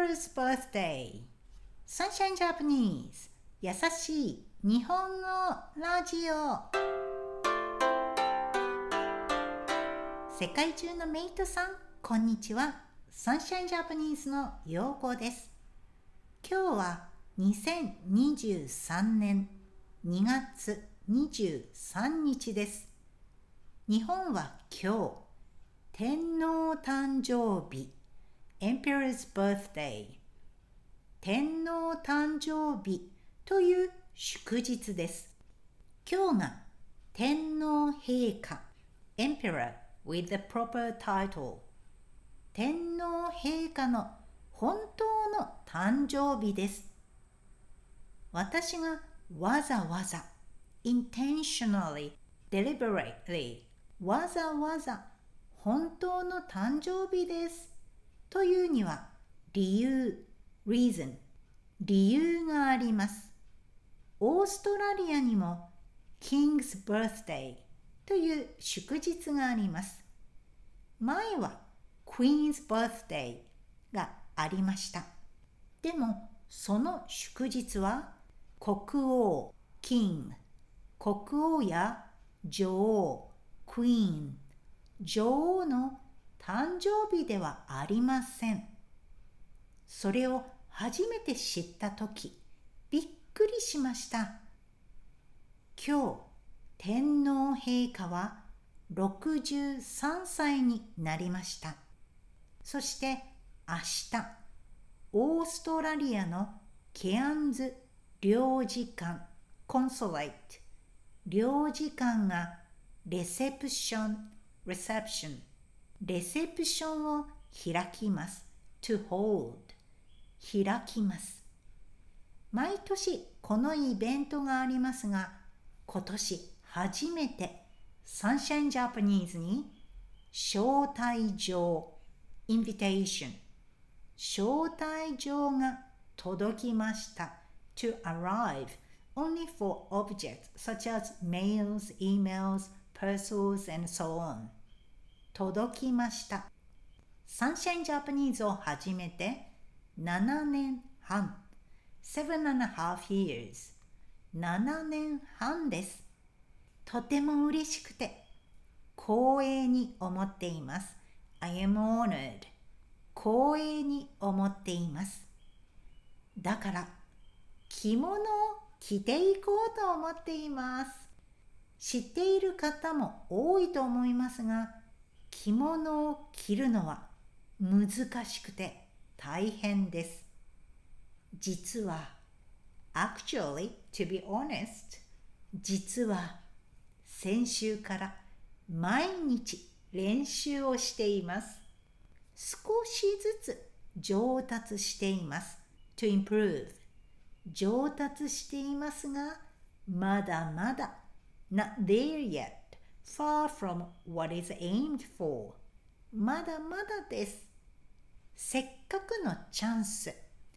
Emperor's Birthday Sunshine Japanese 優しい日本語ラジオ。世界中のメイトさん、こんにちは。Sunshine Japanese のようこです。今日は2023年2月23日です。日本は今日、天皇誕生日、Emperor's Birthday、天皇誕生日という祝日です。今日が天皇陛下、Emperor with the proper title、天皇陛下の本当の誕生日です。私がわざわざ intentionally, deliberately わざわざ本当の誕生日ですというには理由 reason 理由があります。オーストラリアにも King's Birthday という祝日があります。前は Queen's Birthday がありました。でもその祝日は国王 King、 国王や女王 Queen、 女王の誕生日ではありません。それを初めて知ったとき、びっくりしました。今日、天皇陛下は63歳になりました。そして明日、オーストラリアのケアンズ領事館コンソレート領事館がレセプションを開きます。to hold 開きます。毎年このイベントがありますが、今年初めてサンシャインジャパニーズに招待状 invitation 招待状が届きました。to arrive only for objects such as mails, emails, parcels, and so on 届きました。サンシャインジャパニーズを始めて7年半 7.5 years 7年半です。とても嬉しくて光栄に思っています。 I am honored 光栄に思っています。だから着物を着ていこうと思っています。知っている方も多いと思いますが、着物を着るのは難しくて大変です。実は actually, to be honest 実は先週から毎日練習をしています。少しずつ上達しています。to improve 上達していますが、まだまだ not there yet, far from what is aimed for まだまだです。せっかくのチャンス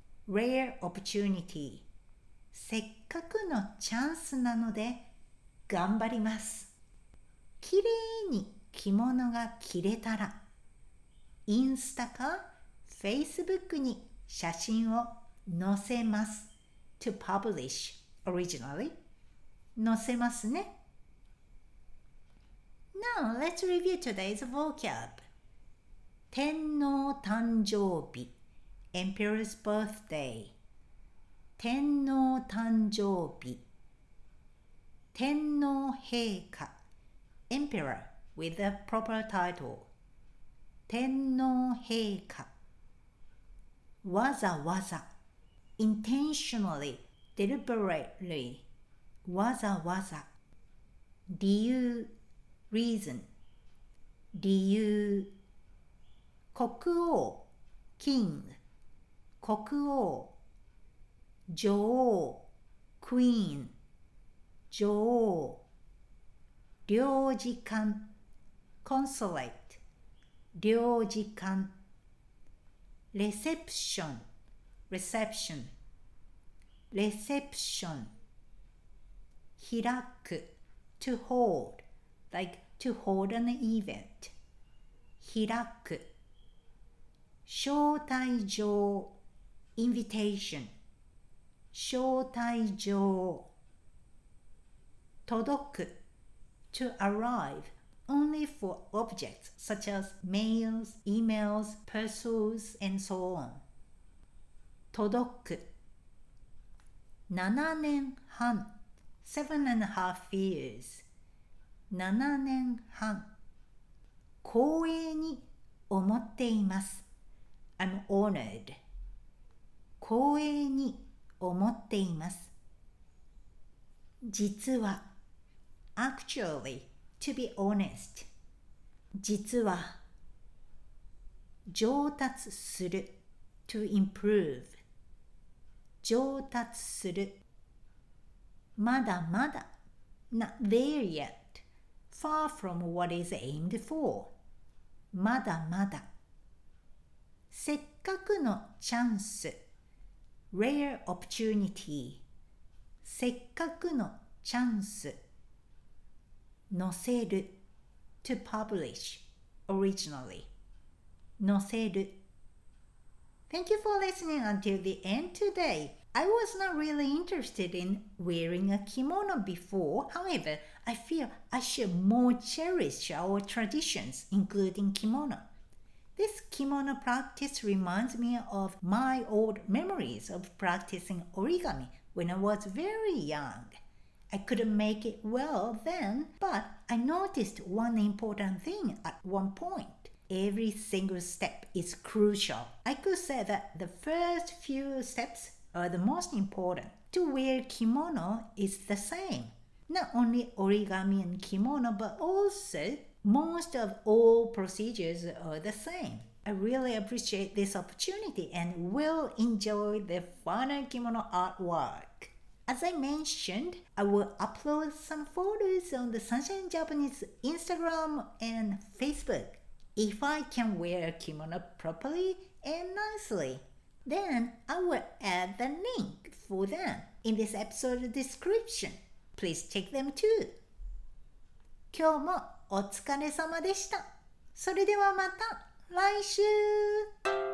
rare opportunity せっかくのチャンスなので頑張ります。きれいに着物が着れたらインスタか Facebook に写真を載せます。to publish originally 載せますね。Now let's review today's vocab. 天皇誕生日 Emperor's Birthday 天皇誕生日天皇陛下 Emperor with a proper title 天皇陛下わざわざ intentionally, deliberately わざわざ理由 reason 理由国王 king 国王女王 queen 女王領事館 consulate 領事館レセプション reception レセプション開く to hold like to hold an event 開く招待状 invitation 招待状届く to arrive only for objects such as mails, emails, parcels, and so on 届く7年半 7.5 years 7年半光栄に思っています I'm honored 光栄に思っています実は actually to be honest 実は上達する to improve 上達するまだまだ not there yet far from what is aimed for まだまだせっかくのチャンス rare opportunity せっかくのチャンス載せる to publish originally 載せる Thank you for listening until the end today. I was not really interested in wearing a kimono before. However, I feel I should more cherish our traditions, including kimono. This kimono practice reminds me of my old memories of practicing origami when I was very young. I couldn't make it well then, but I noticed one important thing at one point.Every single step is crucial. I could say that the first few steps are the most important. To wear kimono is the same. Not only origami and kimono, but also most of all procedures are the same. I really appreciate this opportunity and will enjoy the final kimono artwork. As I mentioned, I will upload some photos on the Sunshine Japanese Instagram and Facebook.If I can wear a kimono properly and nicely, then I will add the link for them in this episode description. Please check them too. 今日もお疲れ様でした。それではまた来週